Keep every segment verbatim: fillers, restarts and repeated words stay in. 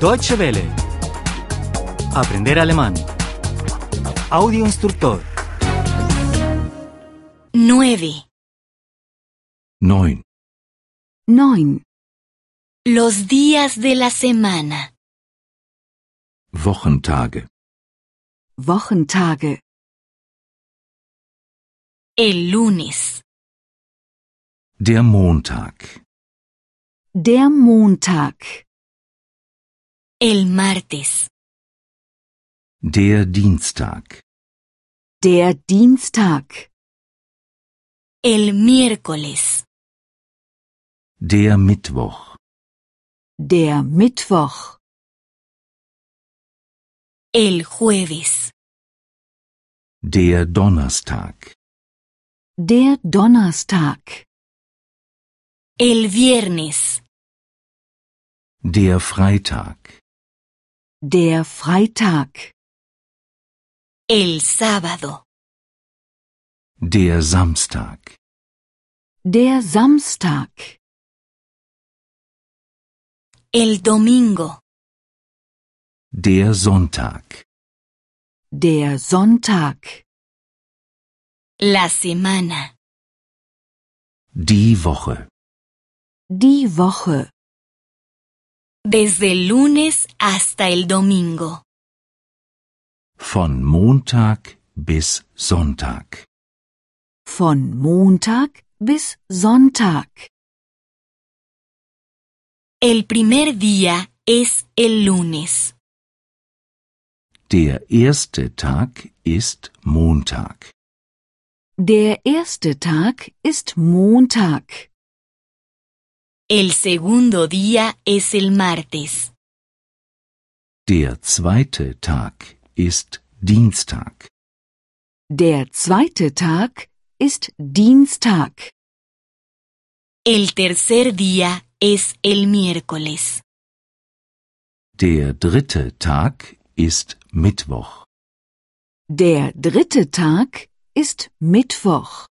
Deutsche Welle. Aprender alemán. Audio instructor. Nueve. Neun. Neun. Los días de la semana. Wochentage. Wochentage. El lunes. Der Montag. Der Montag. El martes. Der Dienstag. Der Dienstag. El miércoles. Der Mittwoch. Der Mittwoch. El jueves. Der Donnerstag. Der Donnerstag. El viernes. Der Freitag. Der Freitag. El sábado. Der Samstag. Der Samstag. El domingo. Der Sonntag. Der Sonntag. La semana. Die Woche. Die Woche. Desde el lunes hasta el domingo. Von Montag bis Sonntag. Von Montag bis Sonntag. El primer día es el lunes. Der erste Tag ist Montag. Der erste Tag ist Montag. El segundo día es el martes. Der zweite Tag ist Dienstag. Der zweite Tag ist Dienstag. El tercer día es el miércoles. Der dritte Tag ist Mittwoch. Der dritte Tag ist Mittwoch.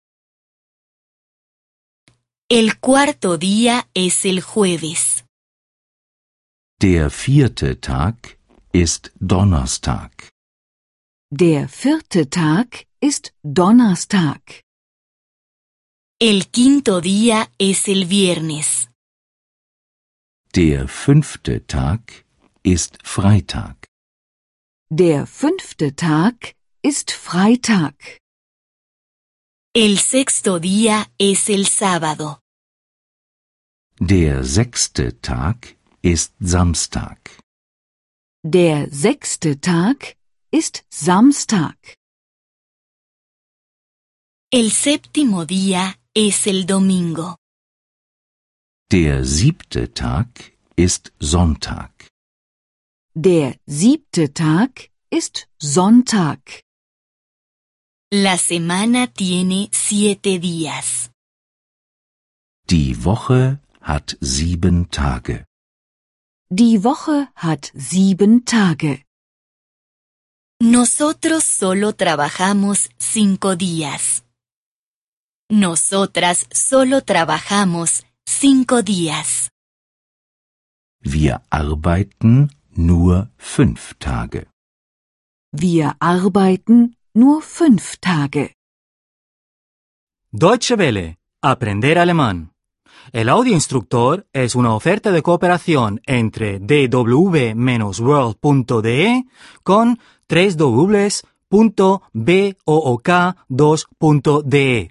El cuarto día es el jueves. Der vierte Tag ist Donnerstag. Der vierte Tag ist Donnerstag. El quinto día es el viernes. Der fünfte Tag ist Freitag. Der fünfte Tag ist Freitag. El sexto día es el sábado. Der sechste Tag ist Samstag. Der sechste Tag ist Samstag. El séptimo día es el domingo. Der siebte Tag ist Sonntag. Der siebte Tag ist Sonntag. La semana tiene siete días. Die Woche hat sieben Tage. Die Woche hat sieben Tage. Nosotros solo trabajamos cinco días. Nosotras solo trabajamos cinco días. Wir arbeiten nur fünf Tage. Wir arbeiten nur fünf Tage. Deutsche Welle. Aprender alemán. El audio instructor es una oferta de cooperación entre d w world punto d e con doble u doble u doble u punto book dos punto d e.